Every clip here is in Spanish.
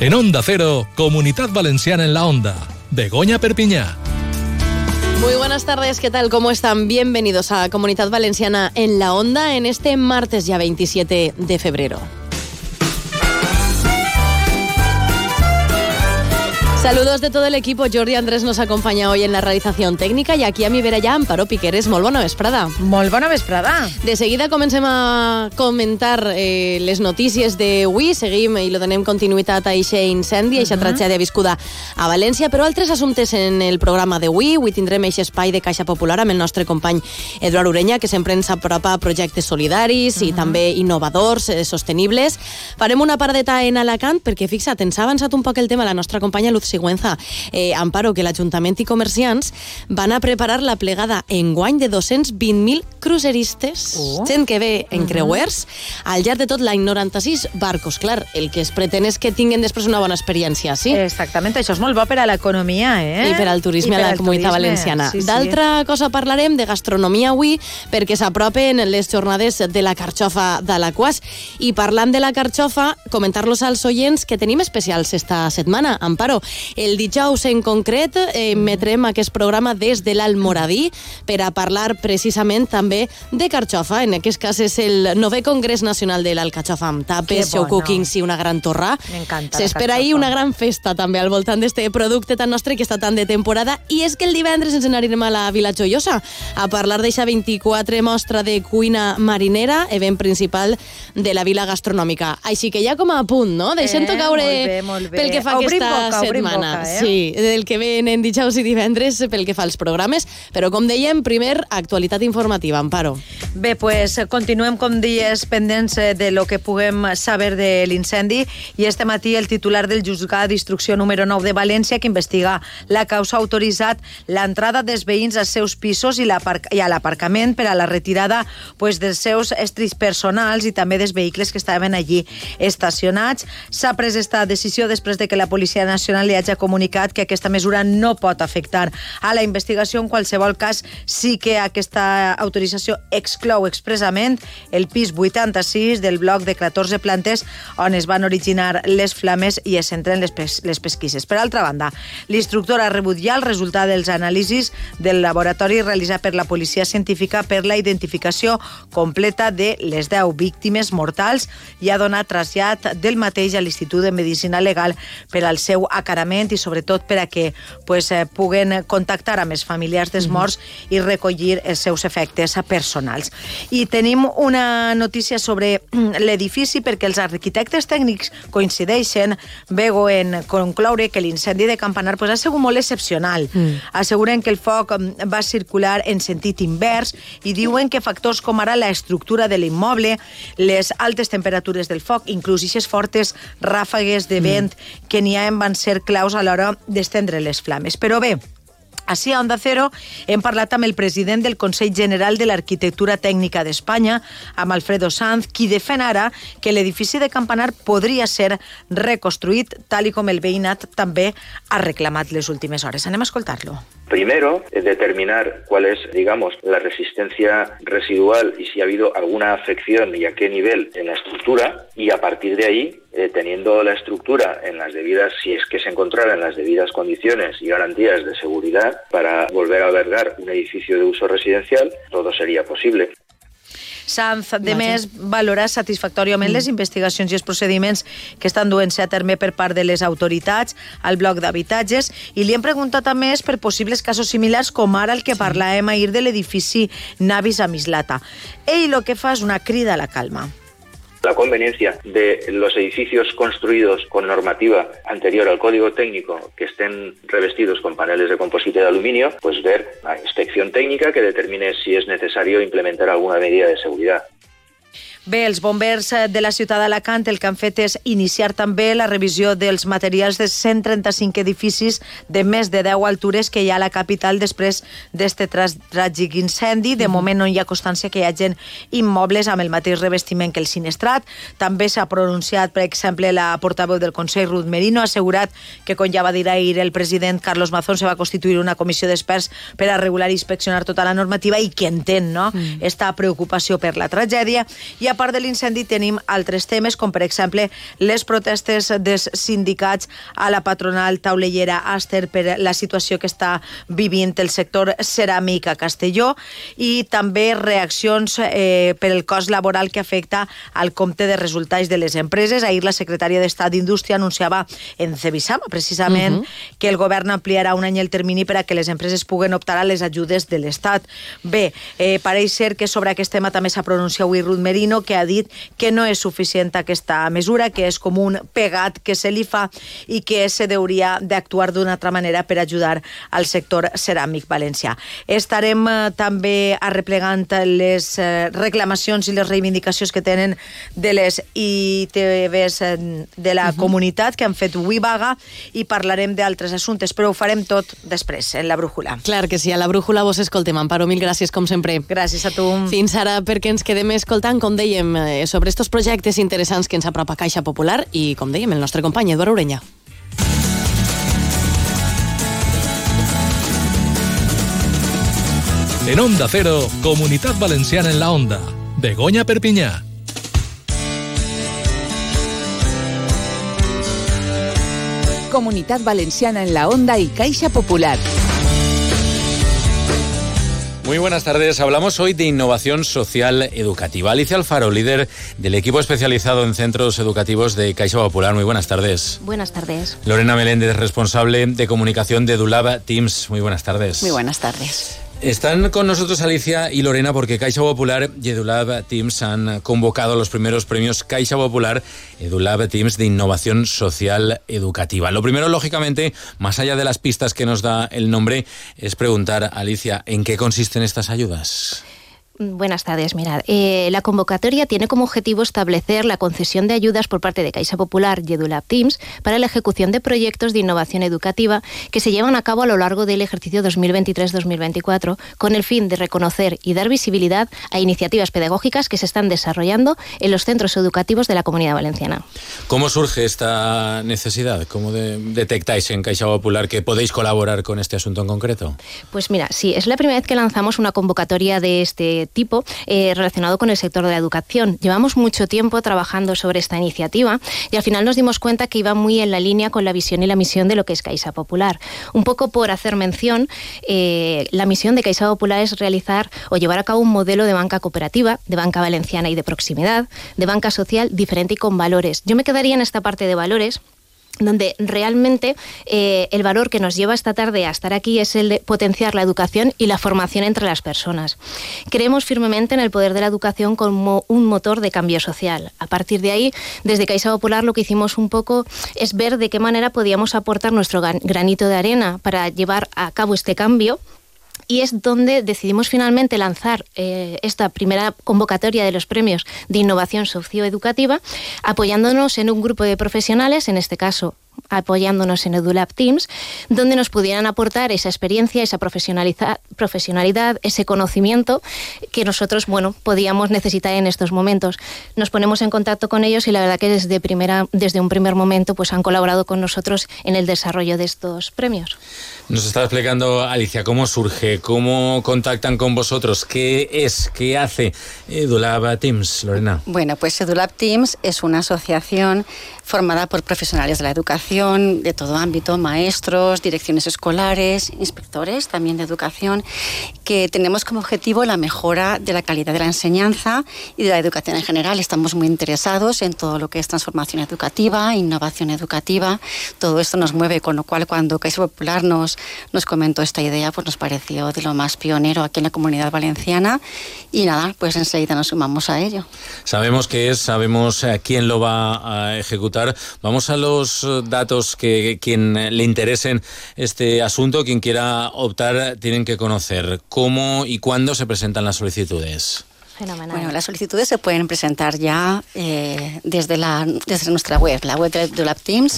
En Onda Cero, Comunidad Valenciana en la Onda. Begoña Perpiñá. Muy buenas tardes, ¿qué tal? ¿Cómo están? Bienvenidos a Comunidad Valenciana en la Onda en este martes ya 27 de febrero. Saludos de todo el equipo. Jordi Andrés nos acompaña hoy en la realitzación técnica i aquí a mi vera ja Amparo Piqueres. Molt bona vesprada. Molt bona vesprada. De seguida comencem a comentar les notícies d'avui. Seguim i lo donem continuïtat a eixe incendi, a eixa tragèdia viscuda a València, però altres assumptes en el programa d'avui. Avui tindrem eixe espai de Caixa Popular amb el nostre company Eduard Ureña, que sempre ens apropa a projectes solidaris i també innovadors, sostenibles. Farem una paradeta en Alacant perquè, fixa't, ens ha avançat un poc el tema la nostra companya Luz Sigüenza. Amparo, que l'Ajuntament i comerciants van a preparar la plegada enguany de 220.000 cruceristes, gent que ve en creuers, al llarg de tot l'any, 96 barcos. Clar, el que es pretén és que tinguin després una bona experiència, sí? Exactament, això és molt bo per a l'economia, I per al turisme a la Comunitat Valenciana. Sí, sí. D'altra cosa parlarem de gastronomia avui, perquè s'apropen les jornades de la carxofa d'Alaquàs. I parlant de la carxofa, comentar-los als oients que tenim especials esta setmana. Amparo, el dijous en concret emetrem aquest programa des de l'Almoradí per a parlar precisament també de carxofa. En aquest cas és el 9è Congrés Nacional de l'Alcachofa amb tapes, show cookings i una gran torra. M'encanta. S'espera ahir una gran festa també al voltant d'este producte tan nostre que està tan de temporada, i és que el divendres ens n'anirem a la Vila Joiosa a parlar d'eixa 24 mostra de cuina marinera, event principal de la Vila Gastronòmica. Així que ja com a punt, no? Deixem-ho caure molt bé. pel que fa aquesta setmana. Sí, del que ven en dijous i divendres pel que fa als programes, però com dèiem, primer, actualitat informativa. Amparo. Bé, pues continuem, com dies, pendents de lo que puguem saber de l'incendi, i este matí el titular del Juzgat d'Instrucció número 9 de València, que investiga la causa, ha autoritzat l'entrada dels veïns als seus pisos i a l'aparcament per a la retirada dels seus estris personals i també dels vehicles que estaven allí estacionats. S'ha pres esta decisió després de que la Policia Nacional li hagi comunicat que aquesta mesura no pot afectar a la investigació. En qualsevol cas, sí que aquesta autorització exclou expressament el pis 86 del bloc de 14 plantes on es van originar les flames i es centren les pesquises. Per altra banda, l'instructor ha rebut ja el resultat dels anàlisis del laboratori realitzat per la policia científica per la identificació completa de les 10 víctimes mortals i ha donat trasllat del mateix a l'Institut de Medicina Legal per al seu acarament i sobretot per a que puguen contactar amb els familiars dels morts i recollir els seus efectes personals. I tenim una notícia sobre l'edifici, perquè els arquitectes tècnics coincideixen, Bego, en concloure que l'incendi de Campanar ha sigut molt excepcional. Asseguren que el foc va circular en sentit invers i diuen que factors com ara la estructura de l'immoble, les altes temperatures del foc, inclús aquestes fortes ràfegues de vent que n'hi ha, van ser claus a l'hora d'estendre les flames. Però bé, així a Onda Cero hem parlat amb el president del Consell General de l'Arquitectura Tècnica d'Espanya, amb Alfredo Sanz, qui defèn ara que l'edifici de Campanar podria ser reconstruït, tal com el veïnat també ha reclamat les últimes hores. Anem a escoltar-lo. Primero, determinar cuál es, digamos, la resistencia residual y si ha habido alguna afección y a qué nivel en la estructura, y a partir de ahí, teniendo la estructura en las debidas, si es que se encontrara en las debidas condiciones y garantías de seguridad para volver a albergar un edificio de uso residencial, todo sería posible. Sanz, de més, valora satisfactòriament les investigacions i els procediments que estan duent-se a terme per part de les autoritats al bloc d'habitatges, i li hem preguntat a més per possibles casos similars com ara el que parlàvem ahir de l'edifici Navis a Mislata. Ell el que fa és una crida a la calma. La conveniencia de los edificios construidos con normativa anterior al Código Técnico que estén revestidos con paneles de composite de aluminio, pues ver la inspección técnica que determine si es necesario implementar alguna medida de seguridad. Bé, els bombers de la ciutat d'Alacant el que han fet és iniciar també la revisió dels materials de 135 edificis de més de 10 altures que hi ha a la capital després d'este tràgic incendi. De moment no hi ha constància que hi hagi immobles amb el mateix revestiment que el sinistrat. També s'ha pronunciat, per exemple, la portaveu del Consell, Ruth Merino, ha assegurat que, com ja va dir ahir el president Carlos Mazón, se va constituir una comissió d'experts per a regular i inspeccionar tota la normativa i que entén esta preocupació per la tragèdia. I a part de l'incendi tenim altres temes, com per exemple les protestes dels sindicats a la patronal taulellera Aster per la situació que està vivint el sector ceràmic a Castelló, i també reaccions per el cost laboral que afecta al compte de resultats de les empreses. Ahir la secretària d'Estat d'Indústria anunciava en Cebisama, precisament, que el govern ampliarà un any el termini per a que les empreses puguen optar a les ajudes de l'Estat. Bé, pareix ser que sobre aquest tema també s'ha pronunciat avui Ruth Merino, que ha dit que no és suficient aquesta mesura, que és com un pegat que se li fa i que se hauria d'actuar d'una altra manera per ajudar al sector ceràmic valencià. Estarem també arreplegant les reclamacions i les reivindicacions que tenen de les ITVs de la comunitat, que han fet avui vaga, i parlarem d'altres assumptes, però ho farem tot després, en la brújula. Clar que sí, a la brújula vos escoltem. Amparo, mil gràcies, com sempre. Gràcies a tu. Fins ara, perquè ens quedem escoltant, com dèiem, sobre estos projectes interessants que ens apropa Caixa Popular i, com dèiem, el nostre company Eduard Ureña. En Onda Cero, Comunitat Valenciana en la Onda. Begoña Perpiñá. Comunitat Valenciana en la Onda y Caixa Popular. Muy buenas tardes. Hablamos hoy de innovación social educativa. Alicia Alfaro, líder del equipo especializado en centros educativos de Caixa Popular. Muy buenas tardes. Buenas tardes. Lorena Meléndez, responsable de comunicación de EduLab Teams. Muy buenas tardes. Muy buenas tardes. Están con nosotros Alicia y Lorena porque Caixa Popular y EduLab Teams han convocado los primeros premios Caixa Popular EduLab Teams de Innovación Social Educativa. Lo primero, lógicamente, más allá de las pistas que nos da el nombre, es preguntar, Alicia, ¿en qué consisten estas ayudas? Buenas tardes. Mirad, la convocatoria tiene como objetivo establecer la concesión de ayudas por parte de Caixa Popular y EduLab Teams para la ejecución de proyectos de innovación educativa que se llevan a cabo a lo largo del ejercicio 2023-2024 con el fin de reconocer y dar visibilidad a iniciativas pedagógicas que se están desarrollando en los centros educativos de la Comunidad Valenciana. ¿Cómo surge esta necesidad? ¿Cómo detectáis en Caixa Popular que podéis colaborar con este asunto en concreto? Pues mira, sí, es la primera vez que lanzamos una convocatoria de este tipo relacionado con el sector de la educación. Llevamos mucho tiempo trabajando sobre esta iniciativa y al final nos dimos cuenta que iba muy en la línea con la visión y la misión de lo que es Caixa Popular. Un poco por hacer mención, la misión de Caixa Popular es realizar o llevar a cabo un modelo de banca cooperativa, de banca valenciana y de proximidad, de banca social diferente y con valores. Yo me quedaría en esta parte de valores, donde realmente el valor que nos lleva esta tarde a estar aquí es el de potenciar la educación y la formación entre las personas. Creemos firmemente en el poder de la educación como un motor de cambio social. A partir de ahí, desde Caixa Popular lo que hicimos un poco es ver de qué manera podíamos aportar nuestro granito de arena para llevar a cabo este cambio. Y es donde decidimos finalmente lanzar esta primera convocatoria de los premios de innovación socioeducativa, apoyándonos en un grupo de profesionales, en este caso apoyándonos en EduLab Teams, donde nos pudieran aportar esa experiencia, esa profesionalidad, ese conocimiento que nosotros, podíamos necesitar en estos momentos. Nos ponemos en contacto con ellos y la verdad que desde un primer momento pues han colaborado con nosotros en el desarrollo de estos premios. Nos está explicando, Alicia, cómo surge, cómo contactan con vosotros, qué hace EduLab Teams, Lorena. Bueno, pues EduLab Teams es una asociación formada por profesionales de la educación de todo ámbito, maestros, direcciones escolares, inspectores también de educación, que tenemos como objetivo la mejora de la calidad de la enseñanza y de la educación en general. Estamos muy interesados en todo lo que es transformación educativa, innovación educativa. Todo esto nos mueve, con lo cual cuando Caixa Popular nos comentó esta idea, pues nos pareció de lo más pionero aquí en la Comunidad Valenciana y nada, pues enseguida nos sumamos a ello. Sabemos qué es, sabemos quién lo va a ejecutar. Vamos a los datos que quien le interesen este asunto, quien quiera optar, tienen que conocer. ¿Cómo y cuándo se presentan las solicitudes? Fenomenal. Bueno, las solicitudes se pueden presentar ya desde nuestra web, la web de EduLab Teams.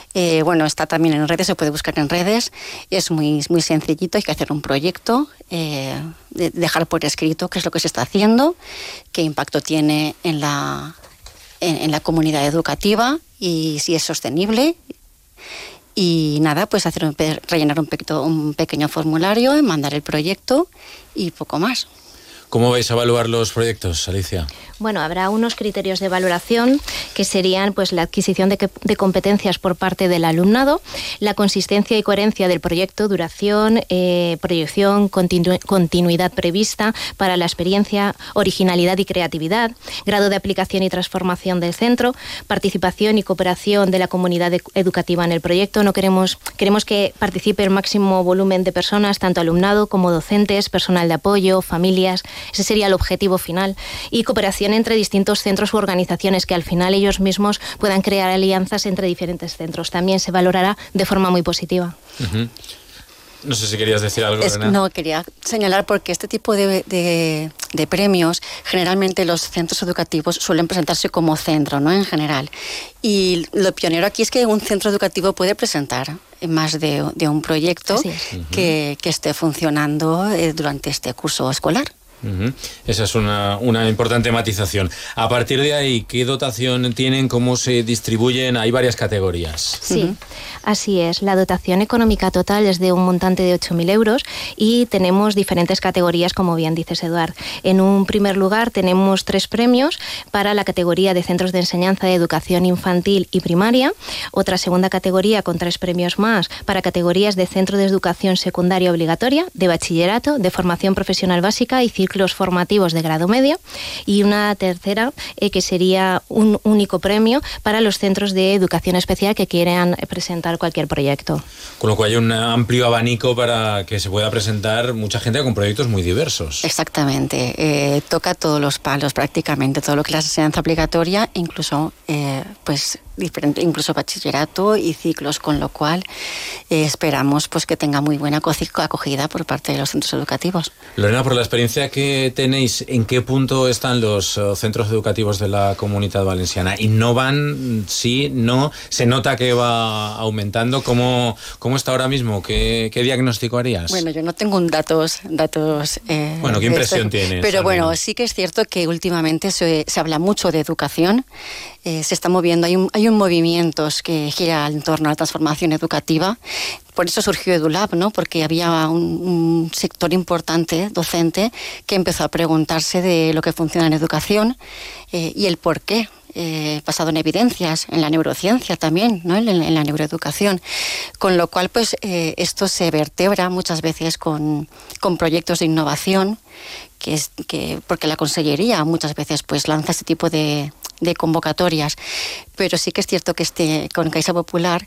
Está también en redes, se puede buscar en redes. Es muy sencillito, hay que hacer un proyecto, dejar por escrito qué es lo que se está haciendo, qué impacto tiene en la comunidad educativa y si es sostenible. Y nada, pues rellenar un pequeño formulario, mandar el proyecto y poco más. ¿Cómo vais a evaluar los proyectos, Alicia? Bueno, habrá unos criterios de valoración que serían pues la adquisición de competencias por parte del alumnado, la consistencia y coherencia del proyecto, duración, proyección, continuidad prevista para la experiencia, originalidad y creatividad, grado de aplicación y transformación del centro, participación y cooperación de la comunidad educativa en el proyecto. Queremos que participe el máximo volumen de personas, tanto alumnado como docentes, personal de apoyo, familias. Ese sería el objetivo final. Y cooperación entre distintos centros u organizaciones, que al final ellos mismos puedan crear alianzas entre diferentes centros. También se valorará de forma muy positiva. Uh-huh. No sé si querías decir algo, Elena. No, quería señalar porque este tipo de premios, generalmente los centros educativos suelen presentarse como centro, ¿no? En general. Y lo pionero aquí es que un centro educativo puede presentar más de un proyecto que esté funcionando durante este curso escolar. Uh-huh. Esa es una importante matización. A partir de ahí, ¿qué dotación tienen? ¿Cómo se distribuyen? Hay varias categorías. Sí, así es. La dotación económica total es de un montante de 8.000 euros y tenemos diferentes categorías, como bien dices, Eduard. En un primer lugar tenemos 3 premios para la categoría de centros de enseñanza de educación infantil y primaria, otra segunda categoría con 3 premios más para categorías de centro de educación secundaria obligatoria, de bachillerato, de formación profesional básica y ciclos formativos de grado medio, y una tercera que sería un único premio para los centros de educación especial que quieran presentar cualquier proyecto. Con lo cual hay un amplio abanico para que se pueda presentar mucha gente con proyectos muy diversos. Exactamente, toca todos los palos prácticamente, todo lo que es la enseñanza obligatoria, incluso incluso bachillerato y ciclos, con lo cual esperamos pues que tenga muy buena acogida por parte de los centros educativos. Lorena, por la experiencia que tenéis, ¿en qué punto están los centros educativos de la Comunitat Valenciana? ¿Innovan? ¿Sí? ¿No? ¿Se nota que va aumentando? ¿Cómo está ahora mismo? ¿Qué diagnóstico harías? Bueno, yo no tengo datos. Bueno, ¿qué impresión tienes? Pero bueno, sí que es cierto que últimamente se habla mucho de educación. Se está moviendo, hay un movimiento que gira en torno a la transformación educativa. Por eso surgió EduLab, ¿no? Porque había un sector importante, docente, que empezó a preguntarse de lo que funciona en educación y el por qué. Basado en evidencias, en la neurociencia también, ¿no? en la neuroeducación, con lo cual pues esto se vertebra muchas veces con proyectos de innovación, porque la Consellería muchas veces pues lanza este tipo de convocatorias, pero sí que es cierto que con Caixa Popular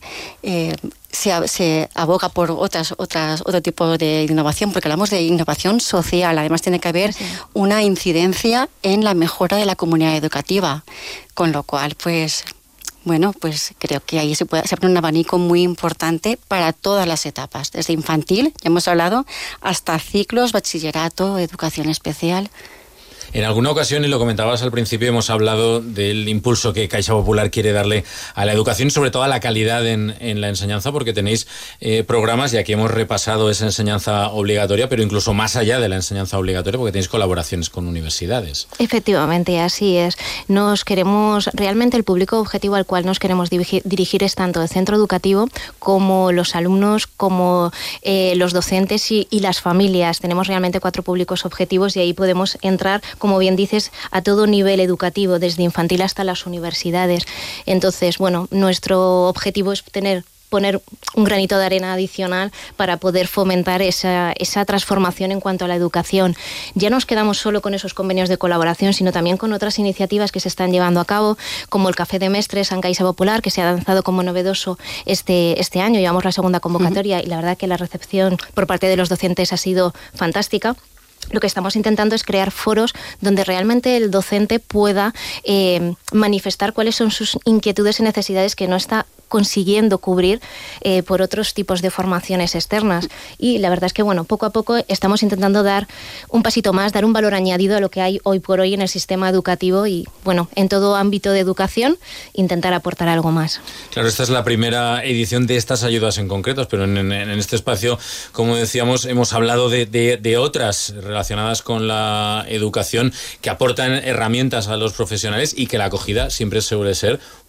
se aboga por otro tipo de innovación, porque hablamos de innovación social. Además tiene que haber una incidencia en la mejora de la comunidad educativa, con lo cual pues creo que ahí se abre un abanico muy importante para todas las etapas, desde infantil, ya hemos hablado, hasta ciclos, bachillerato, educación especial. En alguna ocasión, y lo comentabas al principio, hemos hablado del impulso que Caixa Popular quiere darle a la educación y sobre todo a la calidad en la enseñanza, porque tenéis programas, y aquí hemos repasado esa enseñanza obligatoria, pero incluso más allá de la enseñanza obligatoria, porque tenéis colaboraciones con universidades. Efectivamente, así es. Realmente el público objetivo al cual nos queremos dirigir es tanto el centro educativo como los alumnos, como los docentes y las familias. Tenemos realmente 4 públicos objetivos y ahí podemos entrar, como bien dices, a todo nivel educativo, desde infantil hasta las universidades. Entonces, nuestro objetivo es poner un granito de arena adicional para poder fomentar esa transformación en cuanto a la educación. Ya no nos quedamos solo con esos convenios de colaboración, sino también con otras iniciativas que se están llevando a cabo, como el Café de Mestres en Caixa Popular, que se ha lanzado como novedoso este año. Llevamos la segunda convocatoria y la verdad que la recepción por parte de los docentes ha sido fantástica. Lo que estamos intentando es crear foros donde realmente el docente pueda manifestar cuáles son sus inquietudes y necesidades que no está consiguiendo cubrir por otros tipos de formaciones externas. Y la verdad es que, poco a poco estamos intentando dar un pasito más, dar un valor añadido a lo que hay hoy por hoy en el sistema educativo y, en todo ámbito de educación, intentar aportar algo más. Claro, esta es la primera edición de estas ayudas en concretos, pero en este espacio, como decíamos, hemos hablado de otras relacionadas con la educación que aportan herramientas a los profesionales y que la acogida siempre suele ser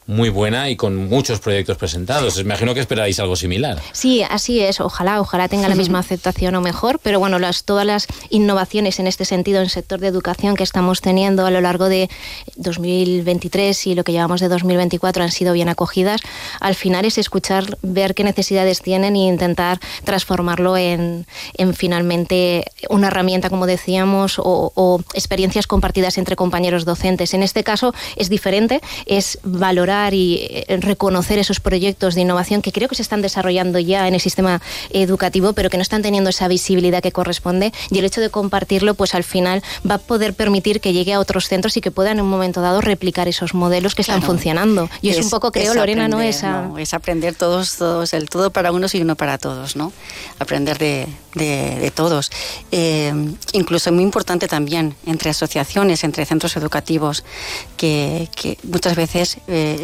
muy buena y con muchos proyectos presentados. Me imagino que esperáis algo similar. Sí, así es. Ojalá tenga la misma aceptación o mejor, pero bueno, todas las innovaciones en este sentido en el sector de educación que estamos teniendo a lo largo de 2023 y lo que llevamos de 2024 han sido bien acogidas. Al final es escuchar, ver qué necesidades tienen e intentar transformarlo en finalmente una herramienta, como decíamos, o experiencias compartidas entre compañeros docentes. En este caso es diferente, es valorar y reconocer esos proyectos de innovación que creo que se están desarrollando ya en el sistema educativo, pero que no están teniendo esa visibilidad que corresponde, y el hecho de compartirlo, pues al final va a poder permitir que llegue a otros centros y que puedan en un momento dado replicar esos modelos que están funcionando. Y es un poco, creo, Lorena, aprender, es aprender todos, el todo para unos y uno para todos, ¿no? Aprender de todos. Incluso es muy importante también entre asociaciones, entre centros educativos, que muchas veces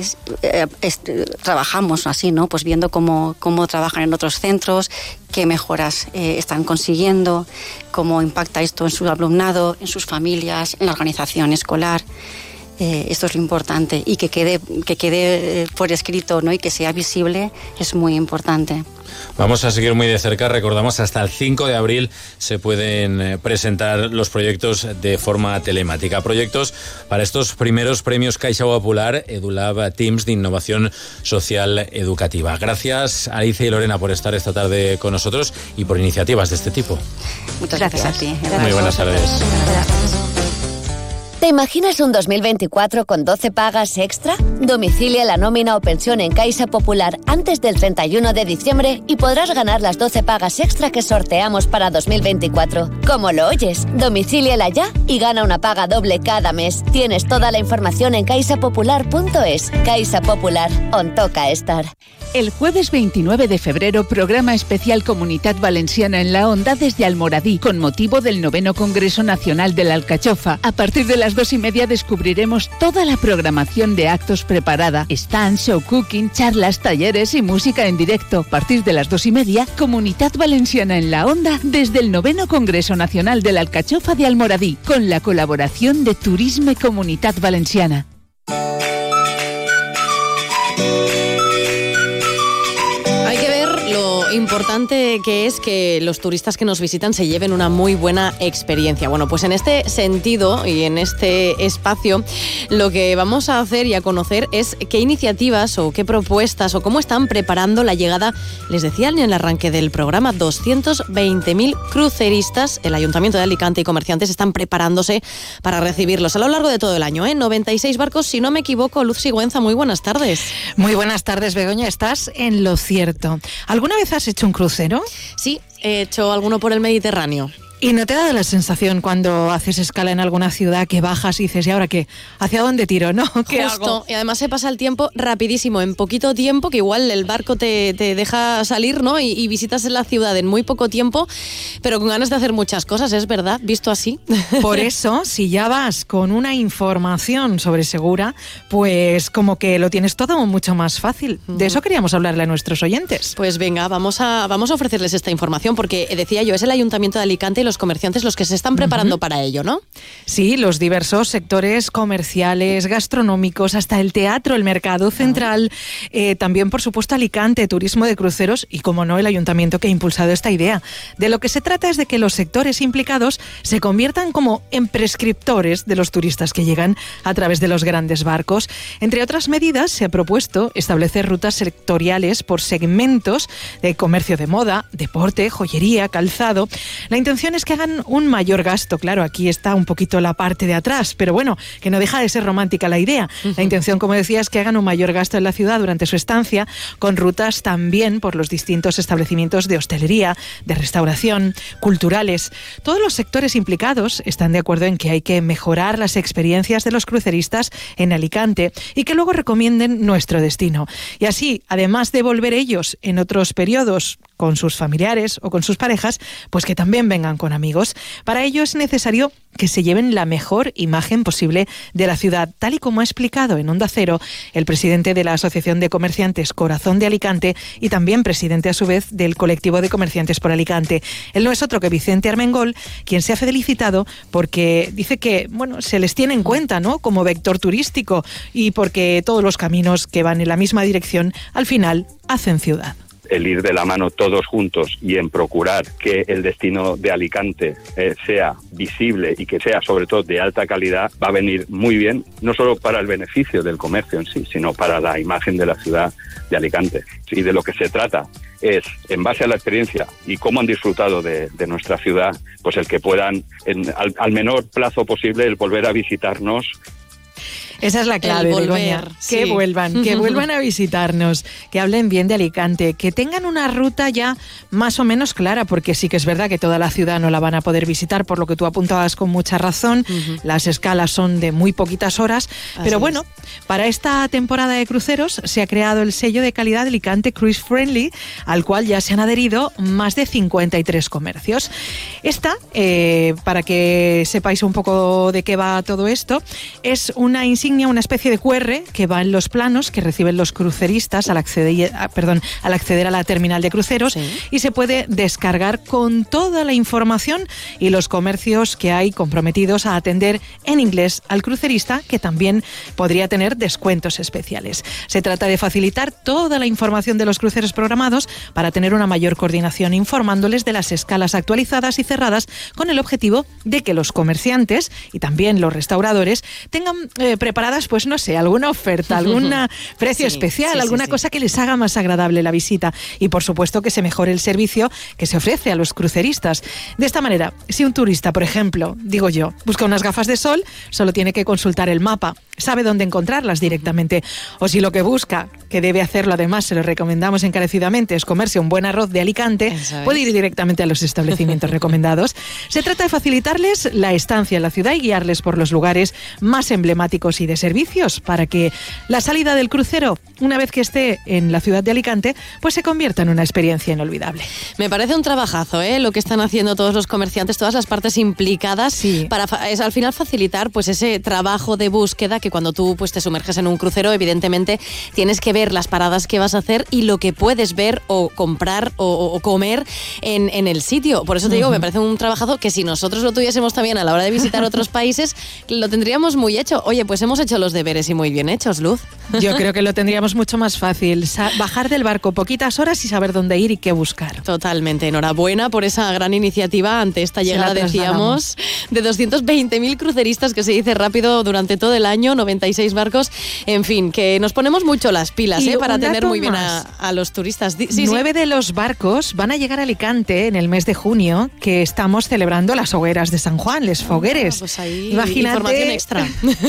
trabajamos así, ¿no? Pues viendo cómo trabajan en otros centros, qué mejoras están consiguiendo, cómo impacta esto en su alumnado, en sus familias, en la organización escolar. Esto es lo importante, y que quede por escrito, ¿no? Y que sea visible es muy importante. Vamos a seguir muy de cerca. Recordamos, hasta el 5 de abril se pueden presentar los proyectos de forma telemática. Proyectos para estos primeros premios Caixa Popular EduLab Teams de Innovación Social Educativa. Gracias, Alicia y Lorena, por estar esta tarde con nosotros y por iniciativas de este tipo. Muchas gracias a ti. Muy buenas tardes. Gracias. ¿Te imaginas un 2024 con 12 pagas extra? Domicilia la nómina o pensión en Caixa Popular antes del 31 de diciembre y podrás ganar las 12 pagas extra que sorteamos para 2024. ¿Cómo lo oyes? Domicíliala ya y gana una paga doble cada mes. Tienes toda la información en caixapopular.es. Caixa Popular, on toca estar. El jueves 29 de febrero, programa especial Comunitat Valenciana en la Onda desde Almoradí, con motivo del 9º Congreso Nacional de la Alcachofa. A partir de las 2:30 descubriremos toda la programación de actos preparada. Stands, show cooking, charlas, talleres y música en directo. A partir de las 2:30, Comunitat Valenciana en la Onda desde el 9º Congreso Nacional de la Alcachofa de Almoradí, con la colaboración de Turisme Comunitat Valenciana. Importante que es que los turistas que nos visitan se lleven una muy buena experiencia. Bueno, pues en este sentido y en este espacio lo que vamos a hacer y a conocer es qué iniciativas o qué propuestas o cómo están preparando la llegada, les decía en el arranque del programa, 220.000 cruceristas. El Ayuntamiento de Alicante y comerciantes están preparándose para recibirlos a lo largo de todo el año, 96 barcos, si no me equivoco. Luz Sigüenza, muy buenas tardes. Muy buenas tardes, Begoña, estás en lo cierto. ¿Alguna vez has hecho un crucero? Sí, he hecho alguno por el Mediterráneo. ¿Y no te da la sensación cuando haces escala en alguna ciudad que bajas y dices, ¿y ahora qué? ¿Hacia dónde tiro? ¿No? ¿Qué Justo, hago? y además se pasa el tiempo rapidísimo, en poquito tiempo, que igual el barco te deja salir, ¿no? Y visitas la ciudad en muy poco tiempo, pero con ganas de hacer muchas cosas, ¿es verdad? Visto así. Por eso, si ya vas con una información sobre Segura, pues como que lo tienes todo mucho más fácil. De eso queríamos hablarle a nuestros oyentes. Pues venga, vamos a ofrecerles esta información, porque decía yo, es el Ayuntamiento de Alicante y los comerciantes los que se están preparando para ello, ¿no? Sí, los diversos sectores comerciales, gastronómicos, hasta el teatro, el mercado central, también, por supuesto, Alicante, turismo de cruceros y, como no, el ayuntamiento que ha impulsado esta idea. De lo que se trata es de que los sectores implicados se conviertan como en prescriptores de los turistas que llegan a través de los grandes barcos. Entre otras medidas, se ha propuesto establecer rutas sectoriales por segmentos de comercio de moda, deporte, joyería, calzado. La intención es que hagan un mayor gasto. Claro, aquí está un poquito la parte de atrás, pero bueno, que no deja de ser romántica la idea. La intención, como decía, es que hagan un mayor gasto en la ciudad durante su estancia, con rutas también por los distintos establecimientos de hostelería, de restauración, culturales. Todos los sectores implicados están de acuerdo en que hay que mejorar las experiencias de los cruceristas en Alicante y que luego recomienden nuestro destino. Y así, además de volver ellos en otros periodos con sus familiares o con sus parejas, pues que también vengan con amigos. Para ello es necesario que se lleven la mejor imagen posible de la ciudad, tal y como ha explicado en Onda Cero el presidente de la Asociación de Comerciantes Corazón de Alicante y también presidente a su vez del colectivo de comerciantes por Alicante. Él no es otro que Vicente Armengol, quien se ha felicitado porque dice que se les tiene en cuenta, ¿no?, como vector turístico y porque todos los caminos que van en la misma dirección al final hacen ciudad. El ir de la mano todos juntos y en procurar que el destino de Alicante sea visible y que sea sobre todo de alta calidad va a venir muy bien, no solo para el beneficio del comercio en sí, sino para la imagen de la ciudad de Alicante. Y de lo que se trata es, en base a la experiencia y cómo han disfrutado de nuestra ciudad, pues el que puedan, al menor plazo posible, el volver a visitarnos. Esa es la clave, Begoña. Sí. Que vuelvan a visitarnos, que hablen bien de Alicante, que tengan una ruta ya más o menos clara, porque sí que es verdad que toda la ciudad no la van a poder visitar, por lo que tú apuntabas con mucha razón. Las escalas son de muy poquitas horas, pero bueno, para esta temporada de cruceros se ha creado el sello de calidad de Alicante Cruise Friendly, al cual ya se han adherido más de 53 comercios. Esta, para que sepáis un poco de qué va todo esto, es una insignia, una especie de QR que va en los planos que reciben los cruceristas al acceder a la terminal de cruceros, y se puede descargar con toda la información y los comercios que hay comprometidos a atender en inglés al crucerista, que también podría tener descuentos especiales. Se trata de facilitar toda la información de los cruceros programados para tener una mayor coordinación, informándoles de las escalas actualizadas y cerradas, con el objetivo de que los comerciantes y también los restauradores tengan preparadas, pues no sé, alguna oferta, algún precio especial, alguna cosa que les haga más agradable la visita, y por supuesto que se mejore el servicio que se ofrece a los cruceristas. De esta manera, si un turista, por ejemplo, digo yo, busca unas gafas de sol, solo tiene que consultar el mapa, sabe dónde encontrarlas directamente. O si lo que busca, que debe hacerlo además, se lo recomendamos encarecidamente, es comerse un buen arroz de Alicante, puede ir directamente a los establecimientos recomendados. Se trata de facilitarles la estancia en la ciudad y guiarles por los lugares más emblemáticos y de servicios, para que la salida del crucero, una vez que esté en la ciudad de Alicante, pues se convierta en una experiencia inolvidable. Me parece un trabajazo, lo que están haciendo todos los comerciantes, todas las partes implicadas, para al final facilitar pues ese trabajo de búsqueda, que cuando tú pues te sumerges en un crucero, evidentemente tienes que ver las paradas que vas a hacer y lo que puedes ver o comprar o comer en el sitio. Por eso te digo, me parece un trabajazo que si nosotros lo tuviésemos también a la hora de visitar otros países, lo tendríamos muy hecho. Oye, pues hemos hecho los deberes y muy bien hechos, Luz. Yo creo que lo tendríamos mucho más fácil. Bajar del barco poquitas horas y saber dónde ir y qué buscar. Totalmente. Enhorabuena por esa gran iniciativa ante esta llegada, decíamos, de 220.000 cruceristas, que se dice rápido, durante todo el año, 96 barcos. En fin, que nos ponemos mucho las pilas para tener muy bien a los turistas. 9 de los barcos van a llegar a Alicante en el mes de junio, que estamos celebrando las hogueras de San Juan, les fogueres. Pues ahí, imagínate, información extra.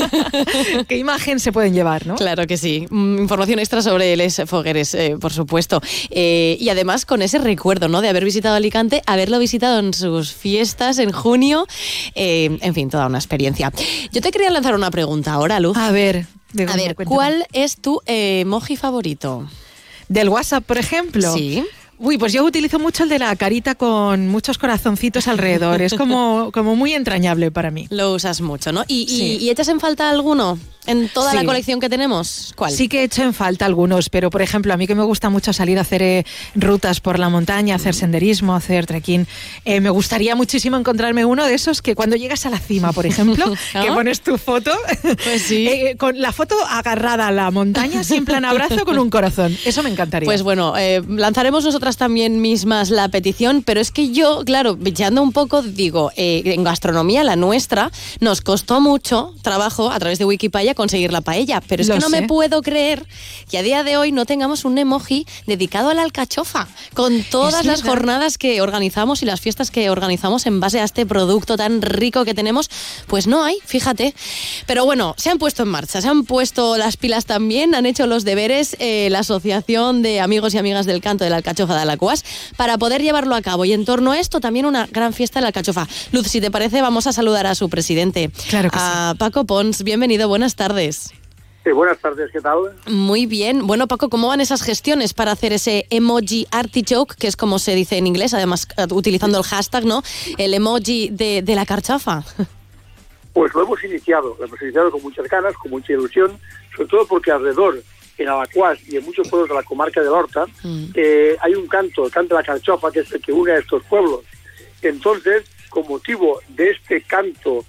¿Qué imagen se pueden llevar, no? Claro que sí. Información extra sobre les fogueres, por supuesto. Y además con ese recuerdo, ¿no?, de haber visitado Alicante, haberlo visitado en sus fiestas en junio. En fin, toda una experiencia. Yo te quería lanzar una pregunta ahora, Luz. A ver, ¿cuál es tu emoji favorito? ¿Del WhatsApp, por ejemplo? Sí. Uy, pues yo utilizo mucho el de la carita con muchos corazoncitos alrededor. Es como muy entrañable para mí. Lo usas mucho, ¿no? ¿Y echas en falta alguno en toda la colección que tenemos? ¿Cuál? Sí que echo en falta algunos, pero por ejemplo, a mí que me gusta mucho salir a hacer rutas por la montaña, hacer senderismo, hacer trekking, me gustaría muchísimo encontrarme uno de esos que cuando llegas a la cima, por ejemplo, que pones tu foto, pues sí. Con la foto agarrada a la montaña, sin plan abrazo, con un corazón. Eso me encantaría. Pues bueno, lanzaremos nosotras también mismas la petición, pero es que yo, claro, bicheando un poco, digo, en gastronomía, la nuestra, nos costó mucho trabajo a través de Wikipedia conseguir la paella, pero es que no me puedo creer que a día de hoy no tengamos un emoji dedicado a la alcachofa, con todas las jornadas que organizamos y las fiestas que organizamos en base a este producto tan rico que tenemos, pues no hay, fíjate. Pero bueno, se han puesto en marcha, se han puesto las pilas también, han hecho los deberes la Asociación de Amigos y Amigas del Canto de la Alcachofa de Alacuás para poder llevarlo a cabo, y en torno a esto también una gran fiesta de la alcachofa. Luz, si te parece, vamos a saludar a su presidente, claro que a Paco Pons. Bienvenido, buenas tardes. Buenas tardes, ¿qué tal? Muy bien. Bueno, Paco, ¿cómo van esas gestiones para hacer ese emoji artichoke, que es como se dice en inglés, además utilizando el hashtag, ¿no? El emoji de la carchofa. Pues lo hemos iniciado con muchas ganas, con mucha ilusión, sobre todo porque alrededor, en Alaquàs y en muchos pueblos de la comarca del Horta, hay un canto, el canto de la carchofa, que es el que une a estos pueblos. Entonces, con motivo de este canto,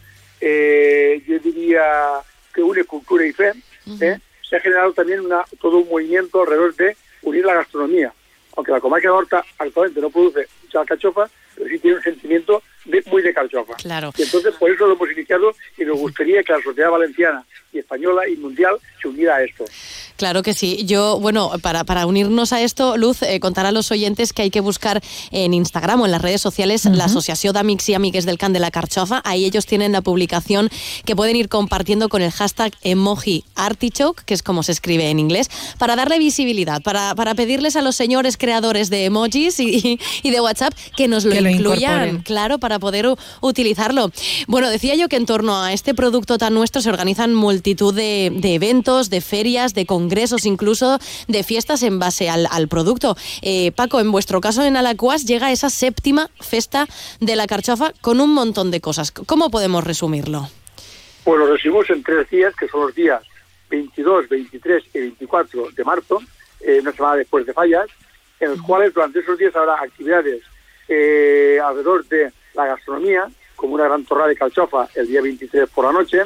yo diría que une cultura y fe, se ha generado también todo un movimiento alrededor de unir la gastronomía. Aunque la comarca de Horta actualmente no produce mucha alcachofa, pero sí tiene un sentimiento muy de carchofa. Claro. Y entonces por eso lo hemos iniciado y nos gustaría que la sociedad valenciana y española y mundial se uniera a esto. Claro que sí. Yo, bueno, para unirnos a esto, Luz, contar a los oyentes que hay que buscar en Instagram o en las redes sociales la Asociación d'Amics y Amigues del Can de la Carchofa. Ahí ellos tienen la publicación que pueden ir compartiendo con el hashtag emoji artichoke, que es como se escribe en inglés, para darle visibilidad, para pedirles a los señores creadores de emojis y de WhatsApp que nos lo incluyan, claro, para poder utilizarlo. Bueno, decía yo que en torno a este producto tan nuestro se organizan multitud de eventos, de ferias, de congresos, incluso de fiestas en base al producto. Paco, en vuestro caso en Alaquàs llega esa 7ª festa de la carchofa con un montón de cosas. ¿Cómo podemos resumirlo? Pues lo resumimos en 3 días, que son los días 22, 23 y 24 de marzo, una semana después de Fallas, en los cuales durante esos días habrá actividades alrededor de la gastronomía, como una gran torrada de carchofa el día 23 por la noche,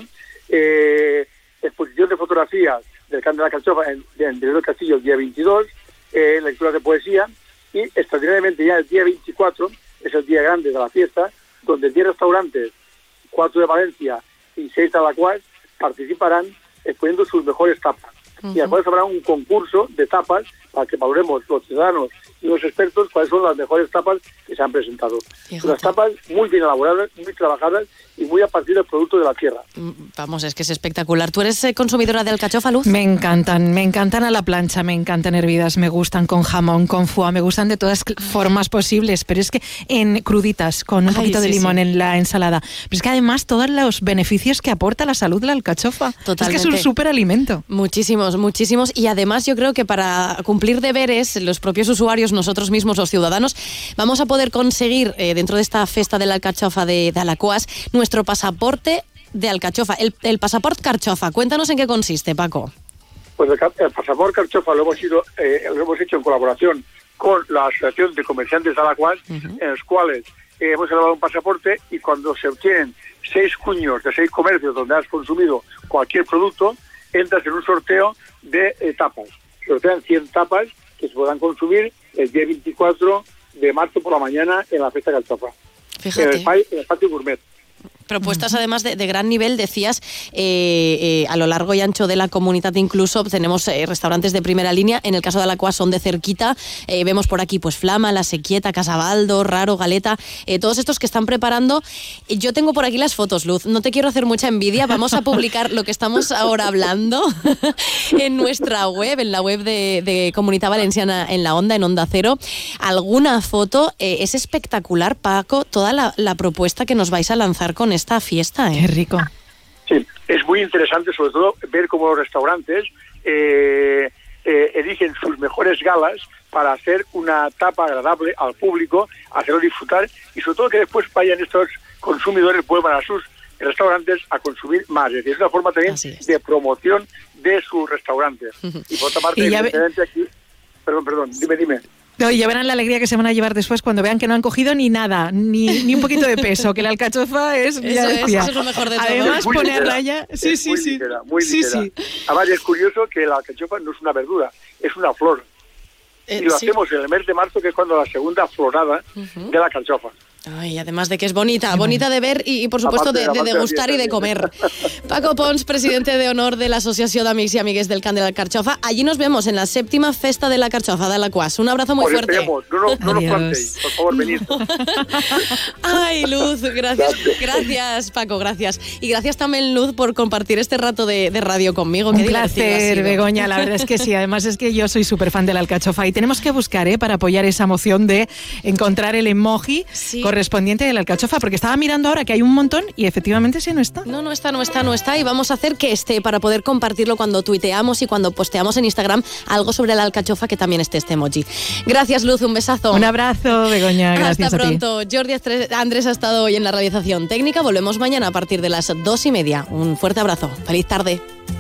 exposición de fotografías del Can de la Carchofa en el Castillo el día 22, lecturas de poesía, y extraordinariamente ya el día 24 es el día grande de la fiesta, donde 10 restaurantes, 4 de Valencia y 6 de Alaquàs participarán exponiendo sus mejores tapas. Y después habrá un concurso de tapas para que valoremos los ciudadanos y los expertos cuáles son las mejores tapas que se han presentado. Unas tapas muy bien elaboradas, muy trabajadas y muy a partir del producto de la tierra. Vamos, es que es espectacular. ¿Tú eres consumidora de alcachofa, Luz? Me encantan a la plancha, me encantan hervidas, me gustan con jamón, con foie, me gustan de todas formas posibles, pero es que en cruditas, con un poquito de limón en la ensalada. Pero es que además todos los beneficios que aporta la salud la alcachofa. Totalmente. Es que es un superalimento. Muchísimos. Y además yo creo que para cumplir deberes, los propios usuarios, nosotros mismos, los ciudadanos, vamos a poder conseguir dentro de esta festa de la alcachofa de Alaquàs nuestro pasaporte de alcachofa, el pasaporte carchofa. Cuéntanos en qué consiste, Paco. Pues el pasaporte carchofa lo hemos hecho en colaboración con la Asociación de Comerciantes de Alaquàs, en los cuales hemos elaborado un pasaporte y cuando se obtienen 6 cuños de 6 comercios donde has consumido cualquier producto, entras en un sorteo de tapas. Sortean 100 tapas que se podrán consumir el día 24 de marzo por la mañana en la fiesta carchofa. Fíjate. En el patio gourmet. Propuestas además de gran nivel, decías, a lo largo y ancho de la comunidad incluso tenemos restaurantes de primera línea. En el caso de Alaquàs son de cerquita, vemos por aquí pues Flama, La Sequieta, Casabaldo, Raro, Galeta, todos estos que están preparando. Yo tengo por aquí las fotos, Luz, no te quiero hacer mucha envidia, vamos a publicar lo que estamos ahora hablando en nuestra web, en la web de Comunitat Valenciana en la Onda, en Onda Cero. Alguna foto, es espectacular, Paco, toda la propuesta que nos vais a lanzar con esta fiesta. Qué rico. Sí, es muy interesante sobre todo ver cómo los restaurantes eligen sus mejores galas para hacer una tapa agradable al público, hacerlo disfrutar y sobre todo que después vayan estos consumidores, vuelvan a sus restaurantes a consumir más. Es decir, es una forma también de promoción de sus restaurantes. Y por otra parte, evidentemente aquí... Perdón, dime. No, y ya verán la alegría que se van a llevar después cuando vean que no han cogido ni nada, ni un poquito de peso, que la alcachofa es... Eso es lo mejor de todo. Además, ponerla ya... Sí. Muy ligera. Además, es curioso que la alcachofa no es una verdura, es una flor. Y lo hacemos en el mes de marzo, que es cuando la segunda florada de la alcachofa. Ay, además de que es bonita de ver y por supuesto de degustar y de comer. Paco Pons, presidente de honor de la Asociación d'Amics y Amigues del Can de la Carchofa. Allí nos vemos en la 7ª festa de la Carchofa de Alaquàs. Un abrazo muy fuerte. No nos plantéis, por favor, venid. Ay, Luz, gracias Paco, gracias. Y gracias también, Luz, por compartir este rato de radio conmigo. Un placer, Begoña, la verdad es que sí. Además es que yo soy súper fan de la alcachofa y tenemos que buscar para apoyar esa moción de encontrar el emoji correspondiente de la alcachofa, porque estaba mirando ahora que hay un montón y efectivamente sí no está. No está y vamos a hacer que esté para poder compartirlo cuando tuiteamos y cuando posteamos en Instagram algo sobre la alcachofa, que también esté este emoji. Gracias, Luz, un besazo. Un abrazo, Begoña, gracias. Hasta pronto. Jordi Andrés ha estado hoy en la realización técnica. Volvemos mañana a partir de las 2:30. Un fuerte abrazo. Feliz tarde.